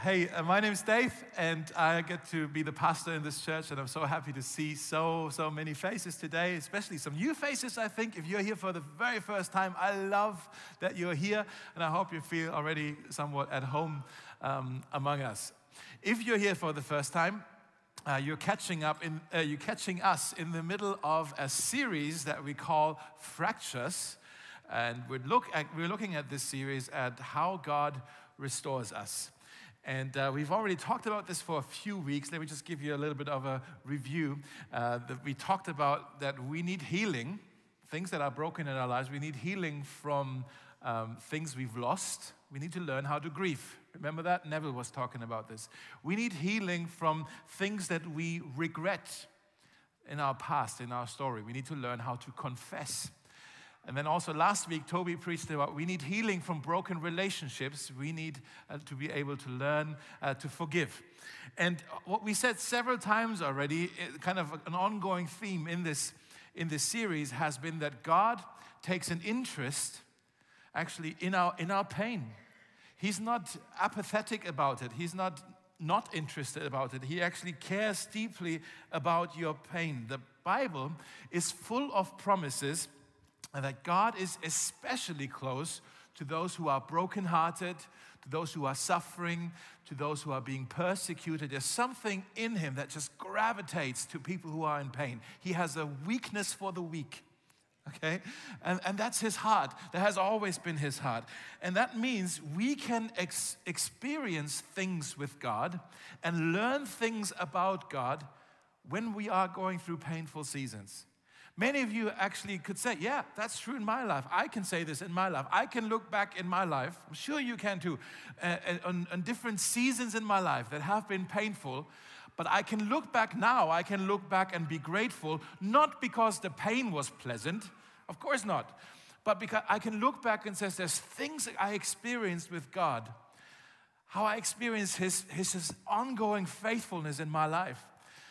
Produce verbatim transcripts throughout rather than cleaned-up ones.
Hey, uh, my name is Dave, and I get to be the pastor in this church, and I'm so happy to see so, so many faces today, especially some new faces, I think. If you're here for the very first time, I love that you're here, and I hope you feel already somewhat at home um, among us. If you're here for the first time, uh, you're catching up in, uh, you're catching us in the middle of a series that we call Fractures, and we're, look at, we're looking at this series at how God restores us. And uh, we've already talked about this for a few weeks. Let me just give you a little bit of a review. Uh, that we talked about that we need healing, things that are broken in our lives. We need healing from um, things we've lost. We need to learn how to grieve. Remember that? Neville was talking about this. We need healing from things that we regret in our past, in our story. We need to learn how to confess. And then also last week, Toby preached about we need healing from broken relationships. We need uh, to be able to learn uh, to forgive. And what we said several times already, kind of an ongoing theme in this, in this series has been that God takes an interest actually in our, in our pain. He's not apathetic about it. He's not not interested about it. He actually cares deeply about your pain. The Bible is full of promises and that God is especially close to those who are brokenhearted, to those who are suffering, to those who are being persecuted. There's something in him that just gravitates to people who are in pain. He has a weakness for the weak, okay? And, and that's his heart. That has always been his heart. And that means we can ex- experience things with God and learn things about God when we are going through painful seasons. Many of you actually could say, yeah, that's true in my life. I can say this in my life. I can look back in my life, I'm sure you can too, uh, on, on different seasons in my life that have been painful. But I can look back now, I can look back and be grateful, not because the pain was pleasant, of course not, but because I can look back and say, there's things that I experienced with God, how I experienced his, his, his ongoing faithfulness in my life.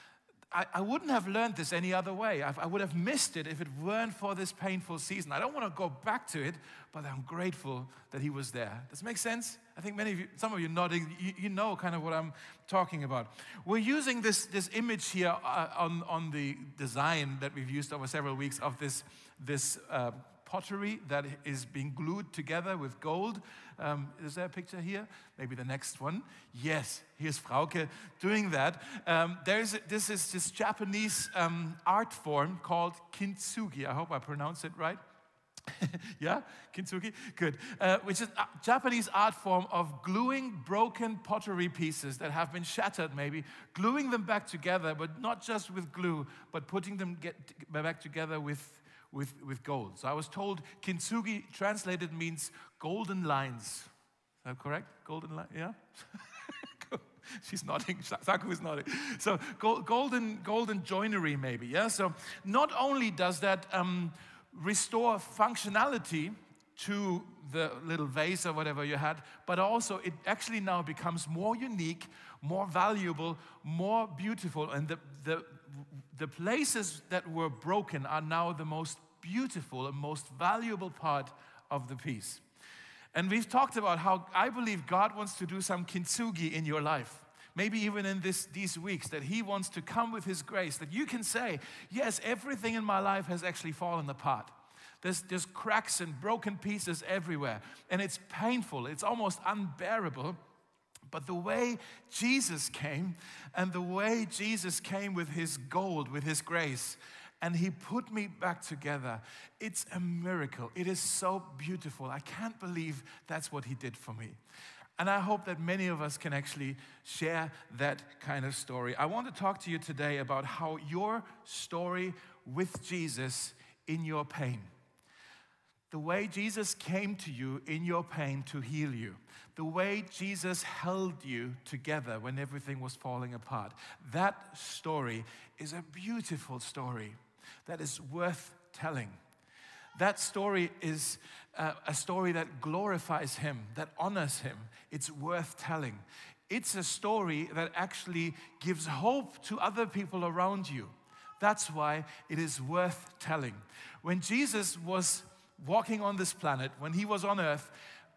I, I wouldn't have learned this any other way. I, I would have missed it if it weren't for this painful season. I don't want to go back to it, but I'm grateful that he was there. Does it make sense? I think many of you, some of you nodding, you, you know kind of what I'm talking about. We're using this, this image here uh, on, on the design that we've used over several weeks of this, this uh, pottery that is being glued together with gold. Um, is there a picture here? Maybe the next one. Yes, here's Frauke doing that. Um, there's this is this Japanese um, art form called kintsugi. I hope I pronounced it right. Yeah, kintsugi, good. Uh, which is a Japanese art form of gluing broken pottery pieces that have been shattered maybe, gluing them back together, but not just with glue, but putting them get back together with With, with gold. So I was told kintsugi translated means golden lines. Is that correct? Golden line, yeah? She's nodding, Saku is nodding. So golden, golden joinery maybe, yeah? So not only does that um, restore functionality to the little vase or whatever you had, but also it actually now becomes more unique, more valuable, more beautiful, and the, the The places that were broken are now the most beautiful and most valuable part of the piece. And we've talked about how I believe God wants to do some kintsugi in your life. Maybe even in this, these weeks, that he wants to come with his grace, that you can say, yes, everything in my life has actually fallen apart. There's, there's cracks and broken pieces everywhere. And it's painful, it's almost unbearable. But the way Jesus came, and the way Jesus came with his gold, with his grace, and he put me back together, it's a miracle. It is so beautiful. I can't believe that's what he did for me. And I hope that many of us can actually share that kind of story. I want to talk to you today about how your story with Jesus in your pain, the way Jesus came to you in your pain to heal you, the way Jesus held you together when everything was falling apart, that story is a beautiful story that is worth telling. That story is uh, a story that glorifies him, that honors him. It's worth telling. It's a story that actually gives hope to other people around you. That's why it is worth telling. When Jesus was walking on this planet, when he was on earth,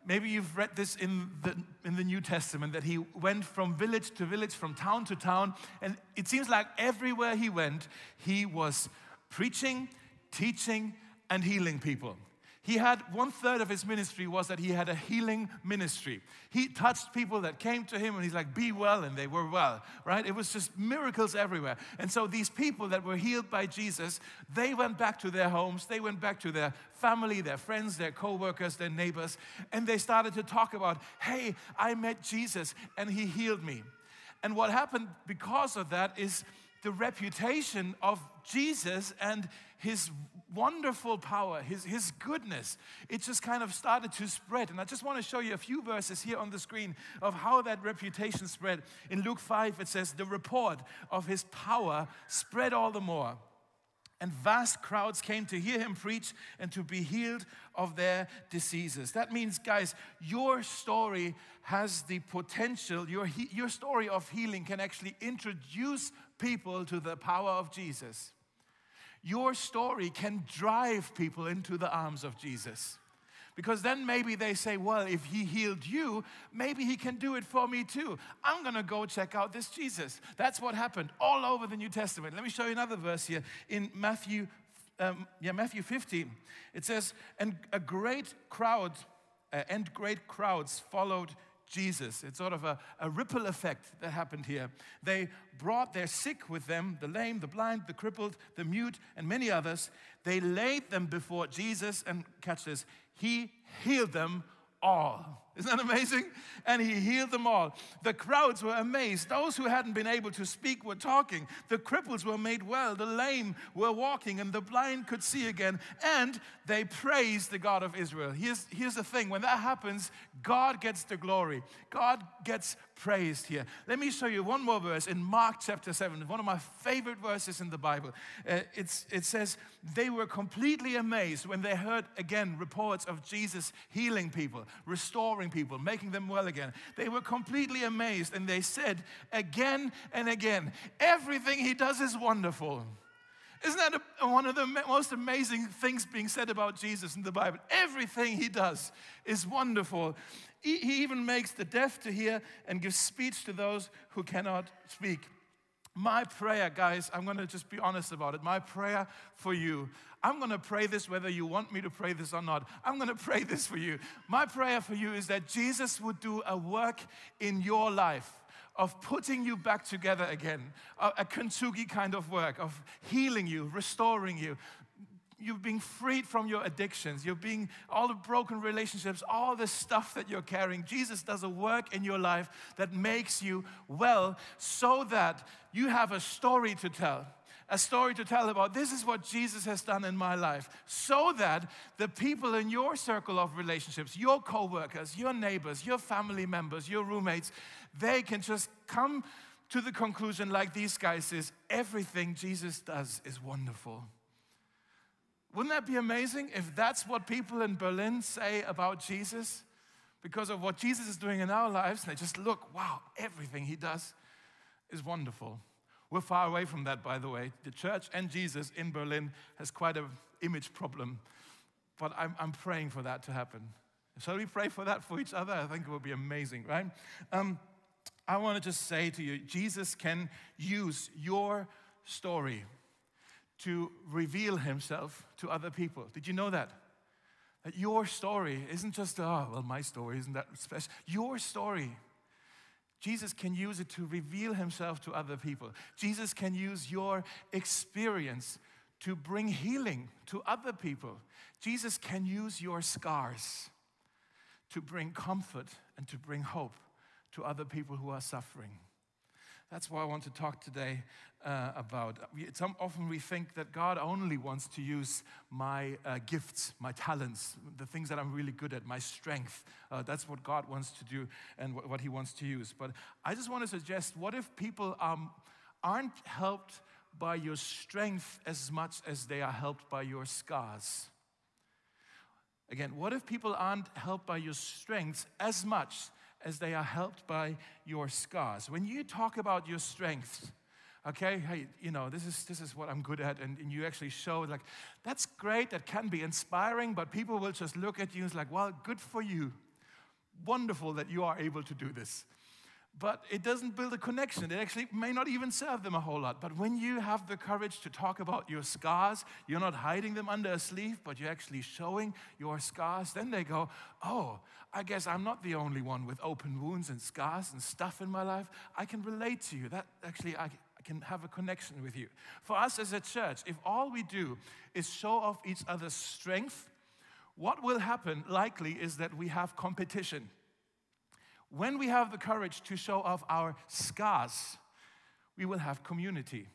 maybe you've read this in the, in the New Testament, that he went from village to village, from town to town, and it seems like everywhere he went, he was preaching, teaching, and healing people. He had one third of his ministry was that he had a healing ministry. He touched people that came to him and he's like, be well, and they were well, right? It was just miracles everywhere. And so these people that were healed by Jesus, they went back to their homes, they went back to their family, their friends, their co-workers, their neighbors, and they started to talk about, hey, I met Jesus and he healed me. And what happened because of that is the reputation of Jesus and his wonderful power, his, his goodness, it just kind of started to spread. And I just want to show you a few verses here on the screen of how that reputation spread. In Luke five, it says, the report of his power spread all the more. And vast crowds came to hear him preach and to be healed of their diseases. That means, guys, your story has the potential, your, your story of healing can actually introduce people to the power of Jesus. Your story can drive people into the arms of Jesus. Because then maybe they say, well, if he healed you, maybe he can do it for me too. I'm going to go check out this Jesus. That's what happened all over the New Testament. Let me show you another verse here in Matthew, um, yeah, Matthew fifteen. It says, and a great crowd, uh, and great crowds followed Jesus. It's sort of a, a ripple effect that happened here. They brought their sick with them, the lame, the blind, the crippled, the mute, and many others. They laid them before Jesus, and catch this, he healed them all. Isn't that amazing? And he healed them all. The crowds were amazed. Those who hadn't been able to speak were talking. The cripples were made well. The lame were walking, and the blind could see again. And they praised the God of Israel. Here's, here's the thing. When that happens, God gets the glory. God gets praised here. Let me show you one more verse in Mark chapter seven, one of my favorite verses in the Bible. Uh, it's, it says, they were completely amazed when they heard again reports of Jesus healing people, restoring people, making them well again. They were completely amazed, and they said again and again, everything he does is wonderful. Isn't that a, one of the most amazing things being said about Jesus in the Bible? Everything he does is wonderful. He, he even makes the deaf to hear and gives speech to those who cannot speak. My prayer, guys, I'm going to just be honest about it. My prayer for you, I'm going to pray this whether you want me to pray this or not. I'm going to pray this for you. My prayer for you is that Jesus would do a work in your life of putting you back together again, a, a kintsugi kind of work, of healing you, restoring you. You're being freed from your addictions. You're being, all the broken relationships, all the stuff that you're carrying. Jesus does a work in your life that makes you well so that you have a story to tell. A story to tell about this is what Jesus has done in my life, so that the people in your circle of relationships, your co-workers, your neighbors, your family members, your roommates, they can just come to the conclusion like these guys is, everything Jesus does is wonderful. Wouldn't that be amazing if that's what people in Berlin say about Jesus? Because of what Jesus is doing in our lives, and they just look, wow, everything he does is wonderful. We're far away from that, by the way. The church and Jesus in Berlin has quite an image problem. But I'm, I'm praying for that to happen. Shall we pray for that for each other? I think it would be amazing, right? Um, I want to just say to you, Jesus can use your story to reveal himself to other people. Did you know that? That your story isn't just, oh, well, my story isn't that special. Your story, Jesus can use it to reveal himself to other people. Jesus can use your experience to bring healing to other people. Jesus can use your scars to bring comfort and to bring hope to other people who are suffering. That's what I want to talk today uh, about. We, some, often we think that God only wants to use my uh, gifts, my talents, the things that I'm really good at, my strength. Uh, that's what God wants to do and what, what he wants to use. But I just want to suggest, what if people um, aren't helped by your strength as much as they are helped by your scars? Again, what if people aren't helped by your strengths as much as they are helped by your scars? When you talk about your strengths, okay, hey, you know, this is this is what I'm good at, and, and you actually show, like, that's great, that can be inspiring, but people will just look at you and it's like, well, good for you. wonderful that you are able to do this. But it doesn't build a connection. It actually may not even serve them a whole lot. But when you have the courage to talk about your scars, you're not hiding them under a sleeve, but you're actually showing your scars, then they go, oh, I guess I'm not the only one with open wounds and scars and stuff in my life. I can relate to you. That actually, I, I can have a connection with you. For us as a church, if all we do is show off each other's strength, what will happen likely is that we have competition. When we have the courage to show off our scars, we will have community.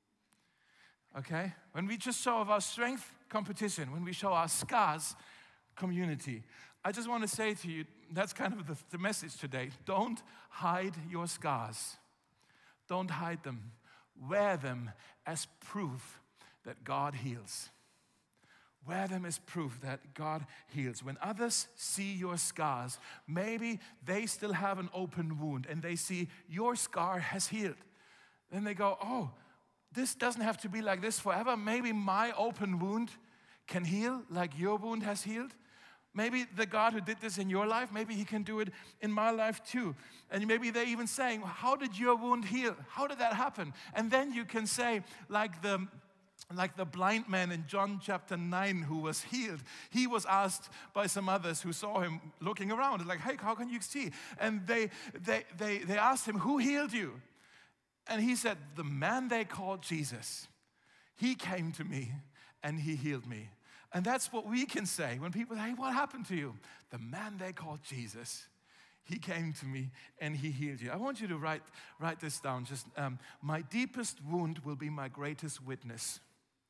Okay? When we just show off our strength, competition. When we show our scars, community. I just want to say to you, that's kind of the, the message today. Don't hide your scars. Don't hide them. Wear them as proof that God heals. Wear them as proof that God heals. When others see your scars, maybe they still have an open wound and they see your scar has healed. Then they go, oh, this doesn't have to be like this forever. Maybe my open wound can heal like your wound has healed. Maybe the God who did this in your life, maybe he can do it in my life too. And maybe they're even saying, how did your wound heal? How did that happen? And then you can say, like the Like the blind man in John chapter nine who was healed. He was asked by some others who saw him looking around. Like, hey, how can you see? And they, they, they, they asked him, who healed you? And he said, the man they called Jesus. He came to me and he healed me. And that's what we can say when people say, hey, what happened to you? The man they called Jesus. He came to me and he healed you. I want you to write, write this down. Just um, my deepest wound will be my greatest witness.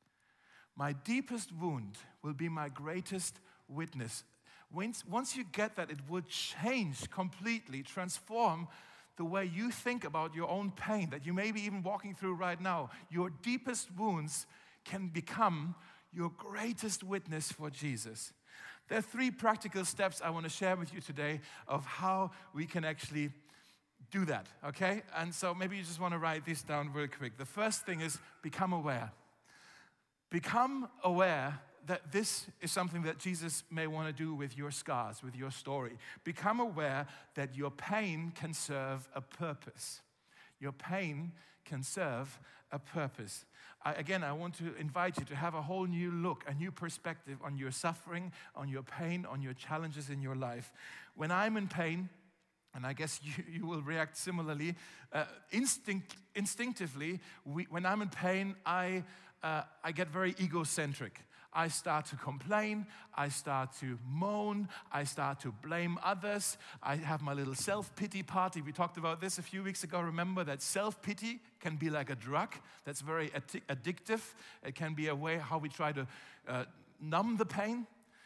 My deepest wound will be my greatest witness. Once, once you get that, it will change completely, transform the way you think about your own pain that you may be even walking through right now. Your deepest wounds can become your greatest witness for Jesus. There are three practical steps I want to share with you today of how we can actually do that, okay? And so maybe you just want to write this down real quick. The first thing is become aware. Become aware that this is something that Jesus may want to do with your scars, with your story. Become aware that your pain can serve a purpose. Your pain can serve a purpose. I, again, I want to invite you to have a whole new look, a new perspective on your suffering, on your pain, on your challenges in your life. When I'm in pain, and I guess you, you will react similarly, uh, instinct, instinctively, we, when I'm in pain, I... Uh, I get very egocentric. I start to complain, I start to moan, I start to blame others. I have my little self-pity party. We talked about this a few weeks ago. Remember that self-pity can be like a drug that's very addic- addictive. It can be a way how we try to uh, numb the pain.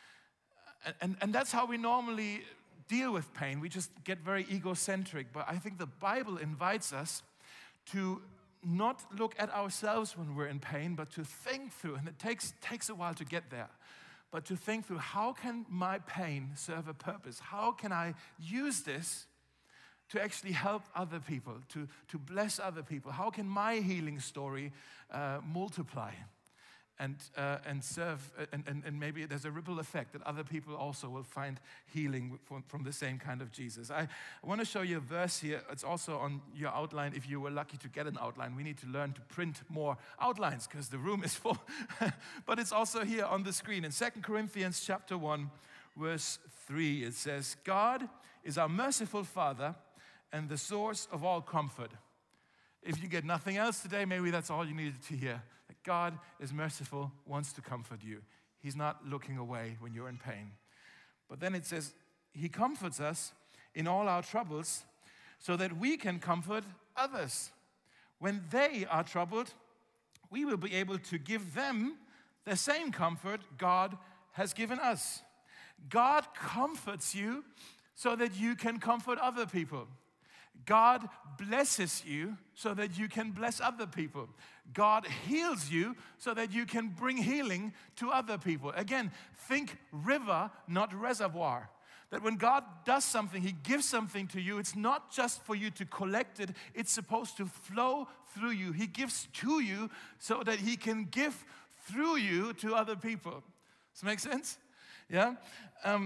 And, and, and that's how we normally deal with pain. We just get very egocentric. But I think the Bible invites us to not look at ourselves when we're in pain, but to think through, and it takes, takes a while to get there, but to think through, how can my pain serve a purpose? How can I use this to actually help other people, to, to bless other people? How can my healing story uh, multiply and uh, and serve, and, and, and maybe there's a ripple effect that other people also will find healing from, from the same kind of Jesus. I, I want to show you a verse here. It's also on your outline if you were lucky to get an outline. We need to learn to print more outlines because the room is full. But it's also here on the screen. In Second Corinthians chapter one, verse three, it says, God is our merciful Father and the source of all comfort. If you get nothing else today, maybe that's all you needed to hear. That God is merciful, wants to comfort you. He's not looking away when you're in pain. But then it says, he comforts us in all our troubles so that we can comfort others. When they are troubled, we will be able to give them the same comfort God has given us. God comforts you so that you can comfort other people. God blesses you so that you can bless other people. God heals you so that you can bring healing to other people. Again, think river, not reservoir. That when God does something, he gives something to you, it's not just for you to collect it, it's supposed to flow through you. He gives to you so that he can give through you to other people. Does that make sense? Yeah? Um,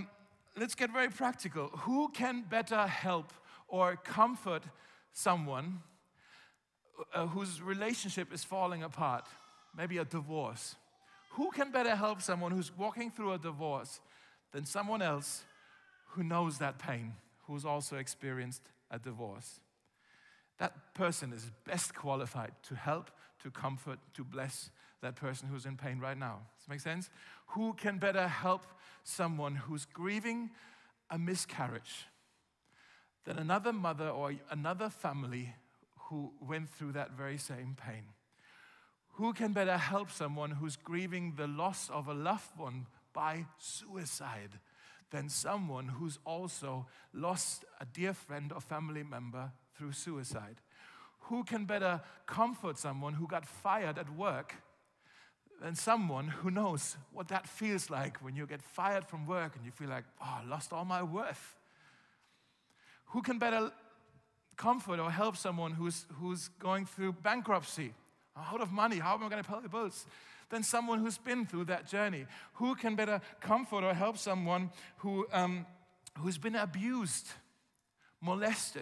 let's get very practical. Who can better help or comfort someone uh, whose relationship is falling apart? Maybe a divorce. Who can better help someone who's walking through a divorce than someone else who knows that pain, who's also experienced a divorce? That person is best qualified to help, to comfort, to bless that person who's in pain right now. Does that make sense? Who can better help someone who's grieving a miscarriage than another mother or another family who went through that very same pain? Who can better help someone who's grieving the loss of a loved one by suicide than someone who's also lost a dear friend or family member through suicide? Who can better comfort someone who got fired at work than someone who knows what that feels like when you get fired from work and you feel like, oh, I lost all my worth? Who can better comfort or help someone who's, who's going through bankruptcy? I'm out of money, how am I going to pay the bills? Than someone who's been through that journey. Who can better comfort or help someone who, um, who's been abused, molested,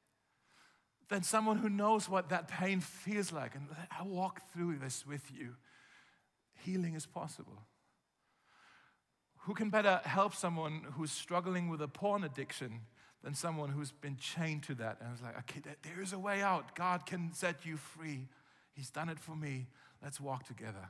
than someone who knows what that pain feels like? And I walk through this with you. Healing is possible. Who can better help someone who's struggling with a porn addiction than someone who's been chained to that? And it's like, okay, there is a way out. God can set you free. He's done it for me. Let's walk together.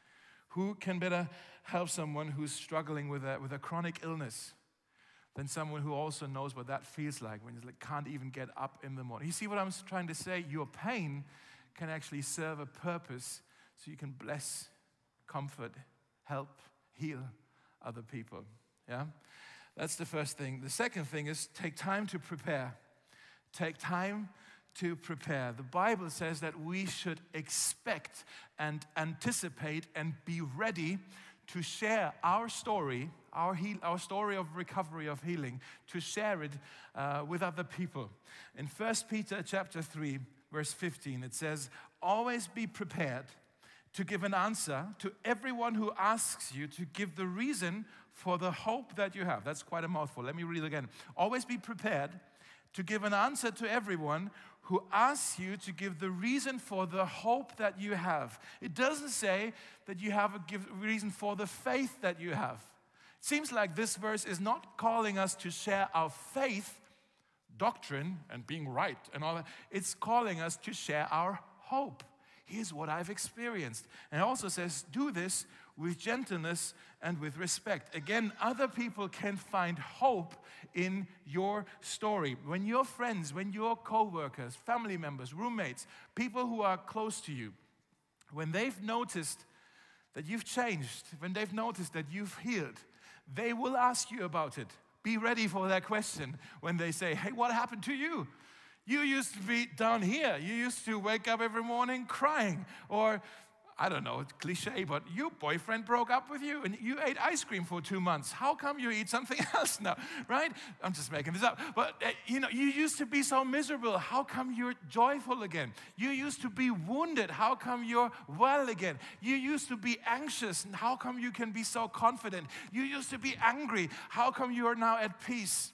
Who can better help someone who's struggling with a, with a chronic illness than someone who also knows what that feels like when you like, can't even get up in the morning? You see what I'm trying to say? Your pain can actually serve a purpose so you can bless, comfort, help, heal other people. Yeah? That's the first thing. The second thing is take time to prepare. Take time to prepare. The Bible says that we should expect and anticipate and be ready to share our story, our, heal, our story of recovery, of healing, to share it uh, with other people. In First Peter chapter three, verse fifteen, it says, always be prepared to give an answer to everyone who asks you to give the reason for the hope that you have. That's quite a mouthful. Let me read it again. Always be prepared to give an answer to everyone who asks you to give the reason for the hope that you have. It doesn't say that you have a give reason for the faith that you have. It seems like this verse is not calling us to share our faith, doctrine, and being right and all that. It's calling us to share our hope. Here's what I've experienced. And it also says, do this with gentleness and with respect. Again, other people can find hope in your story. When your friends, when your co-workers, family members, roommates, people who are close to you, when they've noticed that you've changed, when they've noticed that you've healed, they will ask you about it. Be ready for that question when they say, hey, what happened to you? You used to be down here. You used to wake up every morning crying. Or, I don't know, it's cliche, but your boyfriend broke up with you and you ate ice cream for two months. How come you eat something else now, right? I'm just making this up. But, uh, you know, you used to be so miserable. How come you're joyful again? You used to be wounded. How come you're well again? You used to be anxious. And how come you can be so confident? You used to be angry. How come you are now at peace?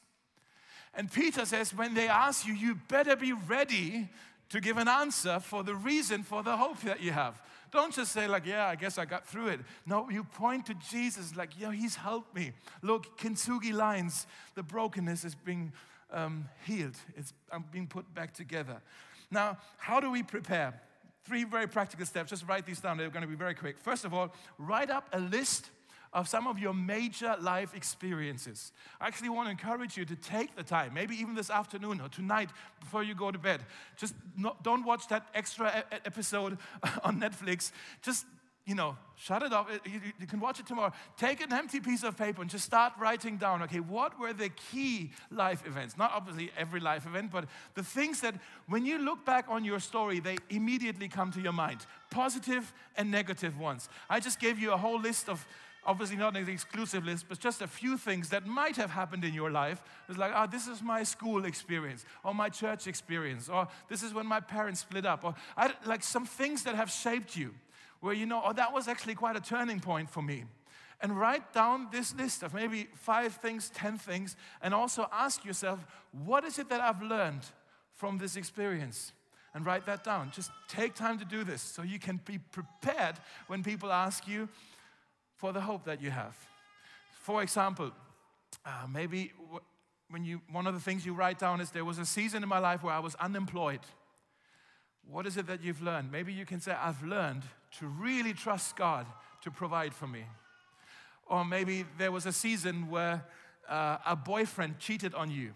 And Peter says, when they ask you, you better be ready to give an answer for the reason for the hope that you have. Don't just say like, yeah, I guess I got through it. No, you point to Jesus like, yeah, he's helped me. Look, kintsugi lines, the brokenness is being um, healed. It's um, being put back together. Now, how do we prepare? Three very practical steps. Just write these down. They're going to be very quick. First of all, write up a list of some of your major life experiences. I actually want to encourage you to take the time, maybe even this afternoon or tonight before you go to bed. Just not, don't watch that extra e- episode on Netflix. Just, you know, shut it off. You, you can watch it tomorrow. Take an empty piece of paper and just start writing down, okay, what were the key life events? Not obviously every life event, but the things that when you look back on your story, they immediately come to your mind. Positive and negative ones. I just gave you a whole list of, obviously not an exclusive list, but just a few things that might have happened in your life. It's like, oh, this is my school experience, or my church experience, or this is when my parents split up, or I, like some things that have shaped you, where you know, oh, that was actually quite a turning point for me. And write down this list of maybe five things, ten things, and also ask yourself, what is it that I've learned from this experience? And write that down. Just take time to do this so you can be prepared when people ask you for the hope that you have. For example, uh, maybe when you, one of the things you write down is, there was a season in my life where I was unemployed. What is it that you've learned? Maybe you can say, I've learned to really trust God to provide for me. Or maybe there was a season where uh, a boyfriend cheated on you.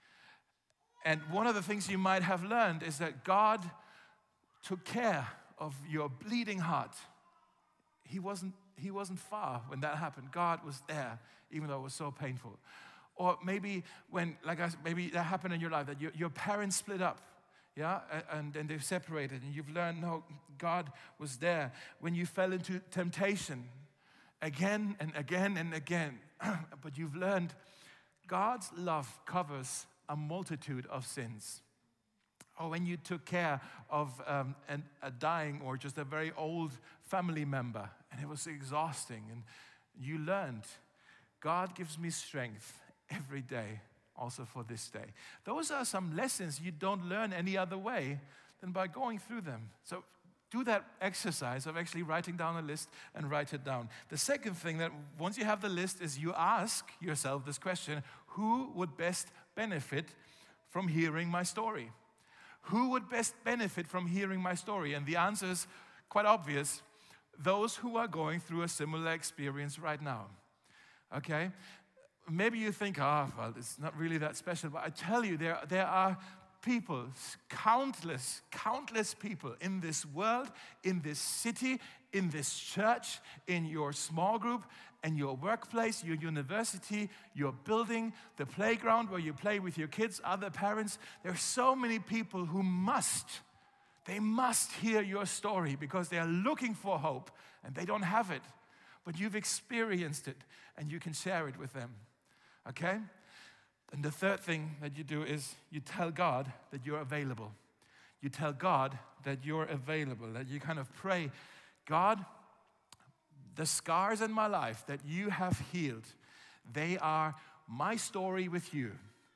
And one of the things you might have learned is that God took care of your bleeding heart. He wasn't, he wasn't far when that happened. God was there, even though it was so painful. Or maybe when, like I said, maybe that happened in your life, that your, your parents split up, yeah, and, and they've separated, and you've learned, no, God was there. When you fell into temptation, again and again and again, but you've learned God's love covers a multitude of sins. Or when you took care of um, an, a dying or just a very old family member, and it was exhausting, and you learned, God gives me strength every day, also for this day. Those are some lessons you don't learn any other way than by going through them. So do that exercise of actually writing down a list and write it down. The second thing, that once you have the list, is you ask yourself this question: who would best benefit from hearing my story? Who would best benefit from hearing my story? And the answer is quite obvious: those who are going through a similar experience right now. Okay? Maybe you think, oh, well, it's not really that special, but I tell you, there, there are people, countless, countless people in this world, in this city, in this church, in your small group, and your workplace, your university, your building, the playground where you play with your kids, other parents. There are so many people who must, they must hear your story because they are looking for hope and they don't have it. But you've experienced it and you can share it with them. Okay? And the third thing that you do is you tell God that you're available. You tell God that you're available, that you kind of pray, God, the scars in my life that you have healed, they are my story with you.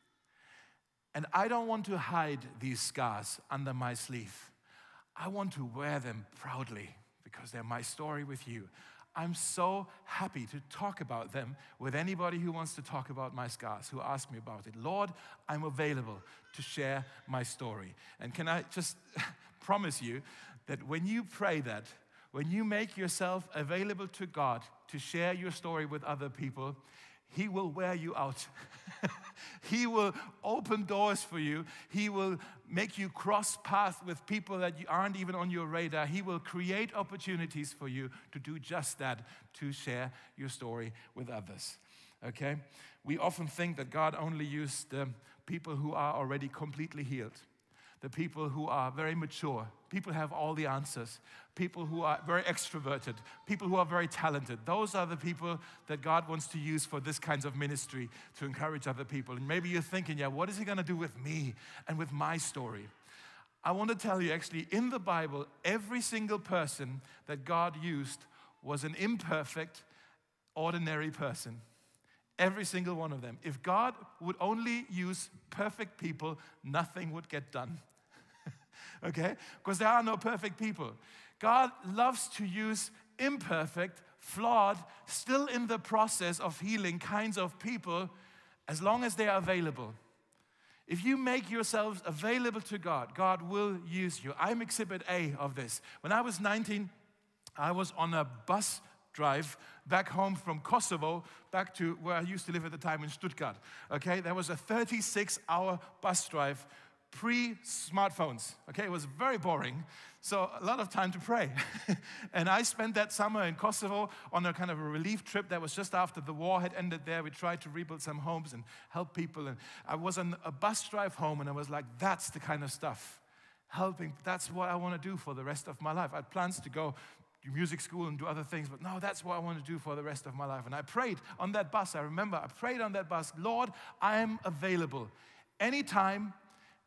And I don't want to hide these scars under my sleeve. I want to wear them proudly because they're my story with you. I'm so happy to talk about them with anybody who wants to talk about my scars, who asks me about it. Lord, I'm available to share my story. And can I just promise you that when you pray that, when you make yourself available to God to share your story with other people, He will wear you out. He will open doors for you. He will make you cross paths with people that you aren't even on your radar. He will create opportunities for you to do just that, to share your story with others. Okay? We often think that God only used the people who are already completely healed, the people who are very mature, people who have all the answers, people who are very extroverted, people who are very talented. Those are the people that God wants to use for this kinds of ministry to encourage other people. And maybe you're thinking, yeah, what is He going to do with me and with my story? I want to tell you, actually, in the Bible, every single person that God used was an imperfect, ordinary person. Every single one of them. If God would only use perfect people, nothing would get done. Okay? Because there are no perfect people. God loves to use imperfect, flawed, still in the process of healing kinds of people, as long as they are available. If you make yourselves available to God, God will use you. I'm exhibit A of this. When I was nineteen, I was on a bus drive back home from Kosovo, back to where I used to live at the time in Stuttgart. Okay, there was a thirty-six hour bus drive, pre-smartphones. Okay, it was very boring, so a lot of time to pray. And I spent that summer in Kosovo on a kind of a relief trip that was just after the war had ended there. We tried to rebuild some homes and help people. And I was on a bus drive home, and I was like, that's the kind of stuff. Helping, that's what I want to do for the rest of my life. I had plans to go do music school and do other things, but no, that's what I want to do for the rest of my life. And I prayed on that bus. I remember I prayed on that bus, Lord, I am available anytime,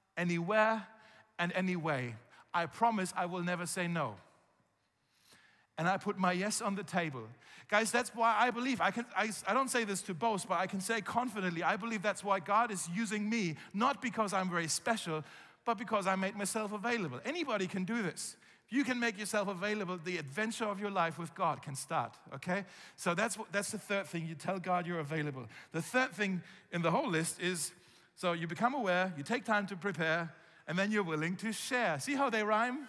anywhere, and any way. I promise I will never say no. and I put my yes on the table. Guys, that's why I believe, I, can, I, I don't say this to boast, but I can say confidently, I believe that's why God is using me, not because I'm very special, but because I made myself available. Anybody can do this. If you can make yourself available, the adventure of your life with God can start, okay? So that's, that's the third thing. You tell God you're available. The third thing in the whole list is, so you become aware, you take time to prepare, and then you're willing to share. See how they rhyme?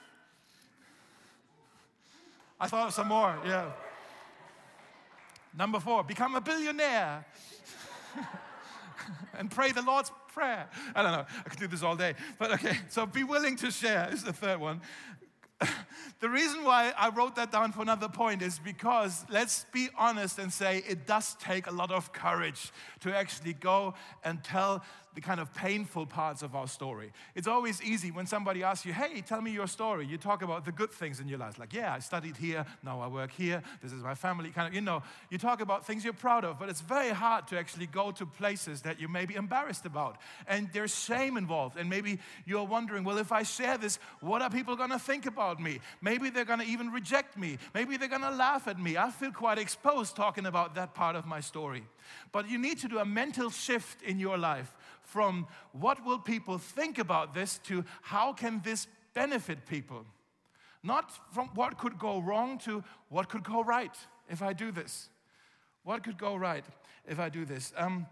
I thought of some more, yeah. Number four, become a billionaire. And pray the Lord's Prayer. I don't know, I could do this all day. But okay, so be willing to share is the third one. The reason why I wrote that down for another point is because, let's be honest and say, it does take a lot of courage to actually go and tell the kind of painful parts of our story. It's always easy when somebody asks you, hey, tell me your story. You talk about the good things in your life. Like, yeah, I studied here, now I work here, this is my family. Kind of, you know, you talk about things you're proud of, but it's very hard to actually go to places that you may be embarrassed about. And there's shame involved. And maybe you're wondering, well, if I share this, what are people going to think about me? Maybe they're going to even reject me. Maybe they're going to laugh at me. I feel quite exposed talking about that part of my story. But you need to do a mental shift in your life from what will people think about this to how can this benefit people. Not from what could go wrong to what could go right if I do this. What could go right if I do this? Um,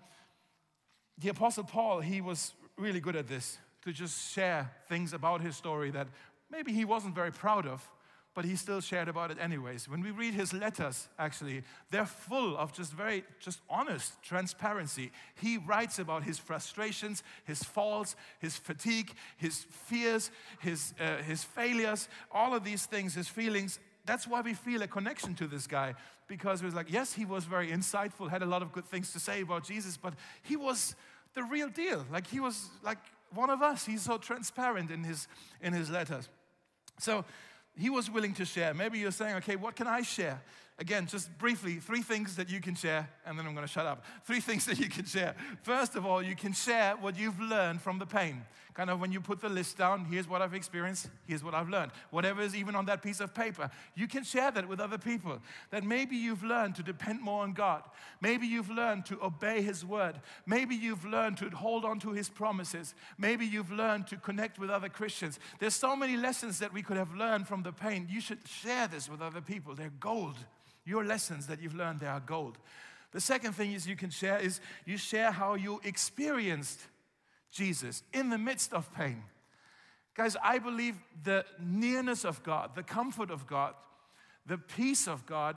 the Apostle Paul, he was really good at this, to just share things about his story that maybe he wasn't very proud of, but he still shared about it anyways. When we read his letters, actually, they're full of just very, just honest transparency. He writes about his frustrations, his faults, his fatigue, his fears, his, uh, his failures, all of these things, his feelings. That's why we feel a connection to this guy, because it was like, yes, he was very insightful, had a lot of good things to say about Jesus, but he was the real deal. Like, he was like one of us. He's so transparent in his, in his letters. So he was willing to share. Maybe you're saying, okay, what can I share? Again, just briefly, three things that you can share, and then I'm going to shut up. Three things that you can share. First of all, you can share what you've learned from the pain. Kind of when you put the list down, here's what I've experienced, here's what I've learned. Whatever is even on that piece of paper, you can share that with other people. That maybe you've learned to depend more on God. Maybe you've learned to obey His word. Maybe you've learned to hold on to His promises. Maybe you've learned to connect with other Christians. There's so many lessons that we could have learned from the pain. You should share this with other people. They're gold. Your lessons that you've learned, they are gold. The second thing is you can share is you share how you experienced Jesus in the midst of pain. Guys, I believe the nearness of God, the comfort of God, the peace of God,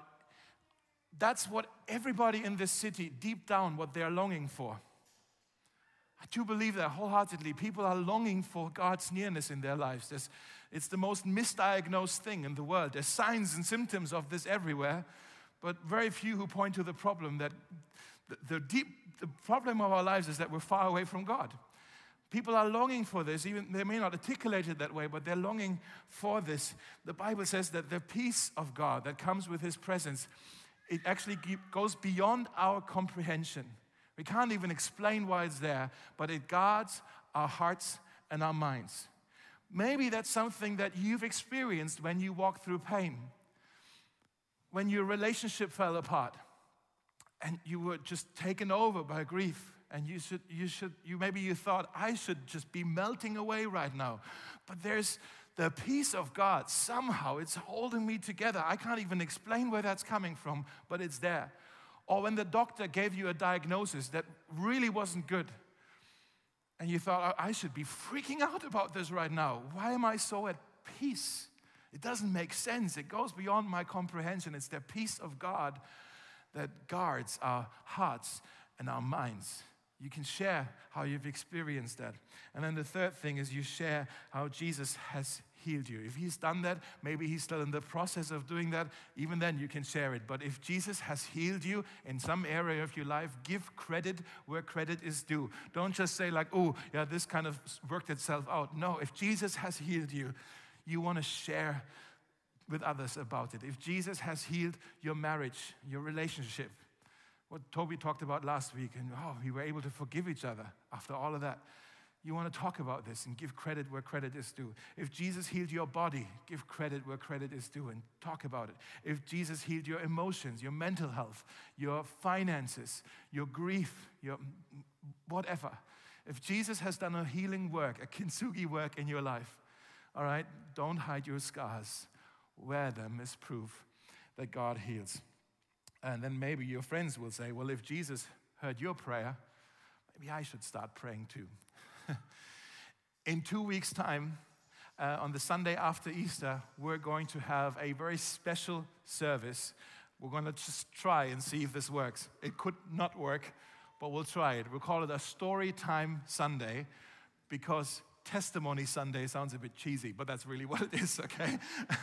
that's what everybody in this city, deep down, what they're longing for. I do believe that wholeheartedly. People are longing for God's nearness in their lives. There's, it's the most misdiagnosed thing in the world. There's signs and symptoms of this everywhere, but very few who point to the problem that the, the deep, the problem of our lives is that we're far away from God. People are longing for this. Even they may not articulate it that way, but they're longing for this. The Bible says that the peace of God that comes with His presence, it actually goes beyond our comprehension. We can't even explain why it's there, but it guards our hearts and our minds. Maybe that's something that you've experienced when you walked through pain, when your relationship fell apart, and you were just taken over by grief. And you should, you should, you maybe you thought, I should just be melting away right now. But there's the peace of God. Somehow it's holding me together. I can't even explain where that's coming from, but it's there. Or when the doctor gave you a diagnosis that really wasn't good, and you thought, I should be freaking out about this right now. Why am I so at peace? It doesn't make sense. It goes beyond my comprehension. It's the peace of God that guards our hearts and our minds. You can share how you've experienced that. And then the third thing is you share how Jesus has healed you. If He's done that, maybe He's still in the process of doing that, even then you can share it. But if Jesus has healed you in some area of your life, give credit where credit is due. Don't just say like, oh, yeah, this kind of worked itself out. No, if Jesus has healed you, you want to share with others about it. If Jesus has healed your marriage, your relationship, what Toby talked about last week, and oh, we were able to forgive each other after all of that. you want to talk about this and give credit where credit is due. If Jesus healed your body, give credit where credit is due and talk about it. If Jesus healed your emotions, your mental health, your finances, your grief, your whatever. If Jesus has done a healing work, a kintsugi work in your life, all right, don't hide your scars. Wear them as proof that God heals. And then maybe your friends will say, well, if Jesus heard your prayer, maybe I should start praying too. In two weeks' time, uh, on the Sunday after Easter, we're going to have a very special service. We're going to just try and see if this works. It could not work, but we'll try it. We'll call it a Story Time Sunday, because Testimony Sunday sounds a bit cheesy, but that's really what it is, okay?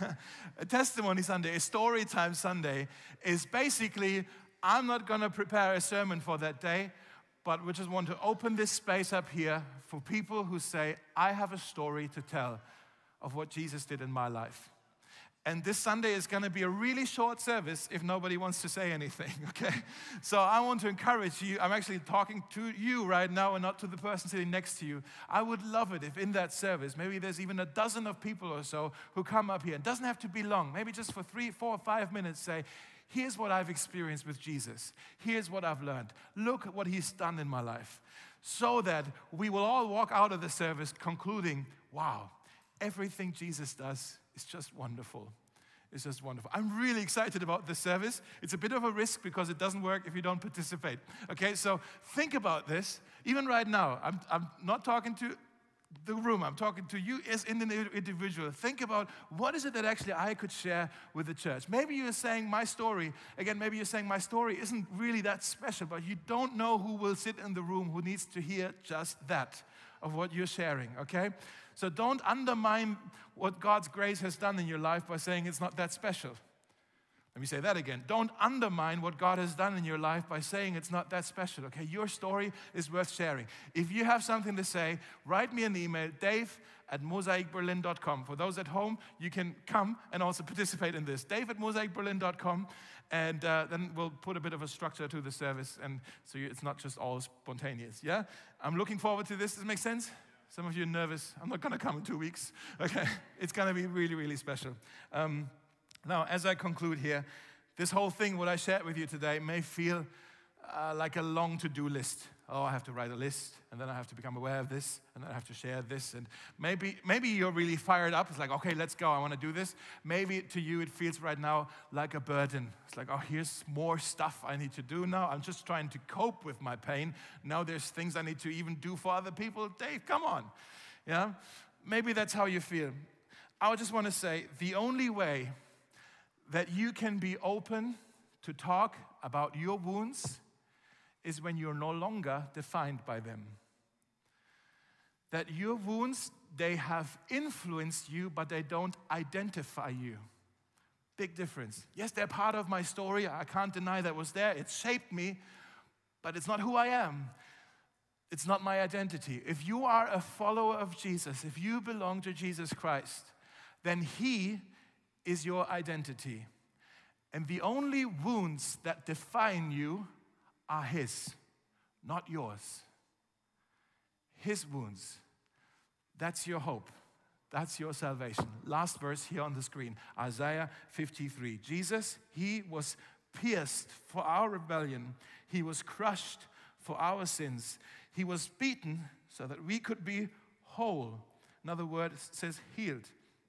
A Testimony Sunday, a Story Time Sunday, is basically, I'm not going to prepare a sermon for that day, but we just want to open this space up here for people who say, I have a story to tell of what Jesus did in my life. And this Sunday is going to be a really short service if nobody wants to say anything, okay? So I want to encourage you. I'm actually talking to you right now and not to the person sitting next to you. I would love it if in that service, maybe there's even a dozen of people or so who come up here. It doesn't have to be long. Maybe just for three, four, five minutes say, here's what I've experienced with Jesus. Here's what I've learned. Look at what he's done in my life. So that we will all walk out of the service concluding, wow, everything Jesus does is just wonderful. It's just wonderful. I'm really excited about this service. It's a bit of a risk because it doesn't work if you don't participate. Okay, so think about this. Even right now, I'm, I'm not talking to the room. I'm talking to you as an individual. Think about what is it that actually I could share with the church. Maybe you're saying my story, again, maybe you're saying my story isn't really that special, but you don't know who will sit in the room who needs to hear just that of what you're sharing, okay? So don't undermine what God's grace has done in your life by saying it's not that special. Let me say that again. Don't undermine what God has done in your life by saying it's not that special, okay? Your story is worth sharing. If you have something to say, write me an email, dave at mosaic berlin dot com. For those at home, you can come and also participate in this. dave at mosaic berlin dot com, and uh, then we'll put a bit of a structure to the service, and so you, it's not just all spontaneous, yeah? I'm looking forward to this. Does it make sense? Some of you are nervous. I'm not going to come in two weeks, okay? It's going to be really, really special. Um, Now, as I conclude here, this whole thing, what I shared with you today, may feel uh, like a long to-do list. Oh, I have to write a list, and then I have to become aware of this, and then I have to share this. And maybe maybe you're really fired up. It's like, okay, let's go. I want to do this. Maybe to you it feels right now like a burden. It's like, oh, here's more stuff I need to do now. I'm just trying to cope with my pain. Now there's things I need to even do for other people. Dave, come on. Yeah? Maybe that's how you feel. I just want to say, the only way that you can be open to talk about your wounds is when you're no longer defined by them. That your wounds, they have influenced you, but they don't identify you. Big difference. Yes, they're part of my story. I can't deny that was there. It shaped me, but it's not who I am. It's not my identity. If you are a follower of Jesus, if you belong to Jesus Christ, then He is your identity. And the only wounds that define you are His, not yours. His wounds. That's your hope. That's your salvation. Last verse here on the screen, Isaiah fifty-three. Jesus, He was pierced for our rebellion. He was crushed for our sins. He was beaten so that we could be whole. Another word says healed,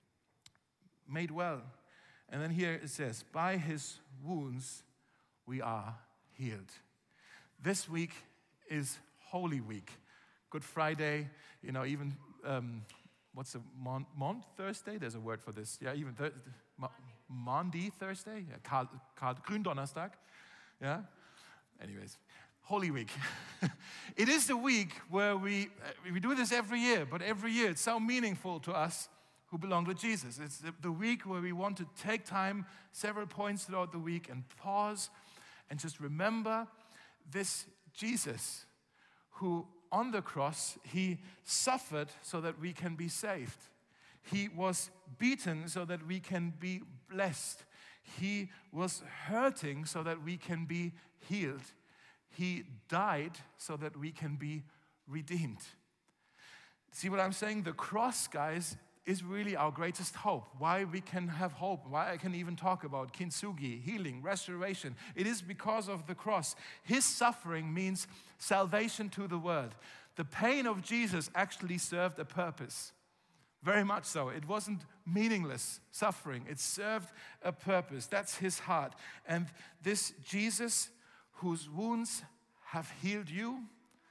made well. And then here it says, by His wounds we are healed. This week is Holy Week. Good Friday, you know, even, um, what's the, Mon, Mon Thursday? There's a word for this. Yeah, even Thursday. Maundy Thursday? Yeah, Karl, Karl, Gründonnerstag. Yeah? Anyways, Holy Week. It is the week where we, we do this every year, but every year it's so meaningful to us who belong to Jesus. It's the, the week where we want to take time, several points throughout the week, and pause and just remember this Jesus who on the cross, He suffered so that we can be saved. He was beaten so that we can be blessed. He was hurting so that we can be healed. He died so that we can be redeemed. See what I'm saying? The cross, guys, is really our greatest hope. Why we can have hope, why I can even talk about kintsugi, healing, restoration. It is because of the cross. His suffering means salvation to the world. The pain of Jesus actually served a purpose. Very much so. It wasn't meaningless suffering. It served a purpose. That's his heart. And this Jesus, whose wounds have healed you,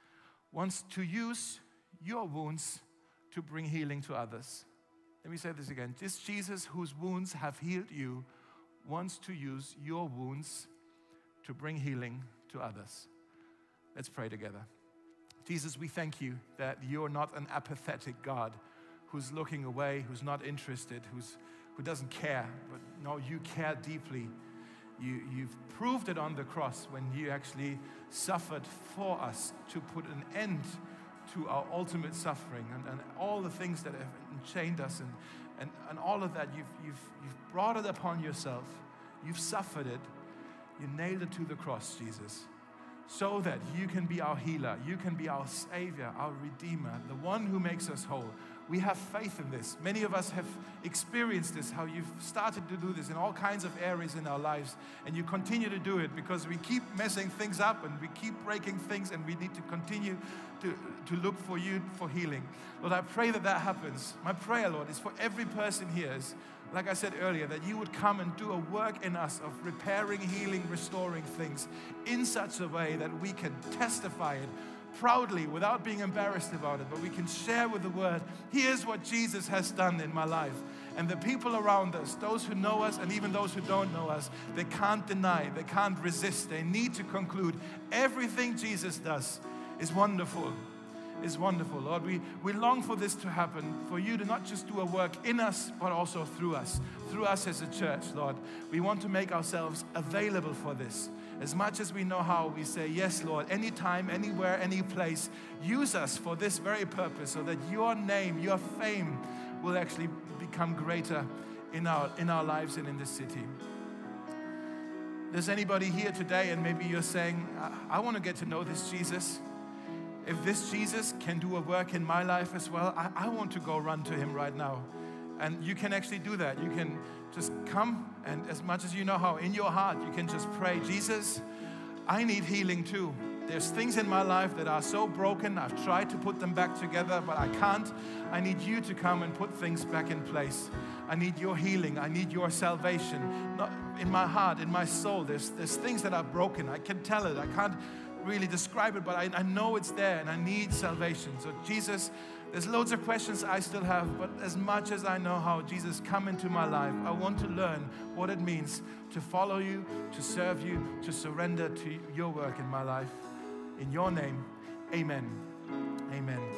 wants to use your wounds to bring healing to others. Let me say this again. This Jesus, whose wounds have healed you, wants to use your wounds to bring healing to others. Let's pray together. Jesus, we thank you that you're not an apathetic God who's looking away, who's not interested, who's, who doesn't care. But no, you care deeply. You, you've proved it on the cross when you actually suffered for us to put an end to our ultimate suffering and, and all the things that have enchained us and, and, and all of that. You've, you've, you've brought it upon yourself. You've suffered it. You nailed it to the cross, Jesus, so that you can be our healer. You can be our Savior, our Redeemer, the one who makes us whole. We have faith in this. Many of us have experienced this, how you've started to do this in all kinds of areas in our lives, and you continue to do it because we keep messing things up and we keep breaking things, and we need to continue to, to look for you for healing. Lord, I pray that that happens. My prayer, Lord, is for every person here, is, like I said earlier, that you would come and do a work in us of repairing, healing, restoring things in such a way that we can testify it proudly without being embarrassed about it, but we can share with the word, here's what Jesus has done in my life. And the people around us, those who know us and even those who don't know us, they can't deny, they can't resist. They need to conclude everything Jesus does is wonderful, is wonderful. Lord, we, we long for this to happen, for you to not just do a work in us, but also through us, through us as a church, Lord. We want to make ourselves available for this. As much as we know how, we say, yes, Lord, anytime, anywhere, any place, use us for this very purpose so that your name, your fame will actually become greater in our, in our lives and in this city. There's anybody here today and maybe you're saying, I, I want to get to know this Jesus. If this Jesus can do a work in my life as well, I, I want to go run to him right now. And you can actually do that. You can just come, and as much as you know how, in your heart, you can just pray, Jesus, I need healing too. There's things in my life that are so broken. I've tried to put them back together, but I can't. I need you to come and put things back in place. I need your healing. I need your salvation. Not in my heart, in my soul, there's, there's things that are broken. I can tell it. I can't really describe it, but I, I know it's there, and I need salvation. So Jesus, there's loads of questions I still have, but as much as I know how, Jesus, come into my life. I want to learn what it means to follow you, to serve you, to surrender to your work in my life. In your name, amen. Amen.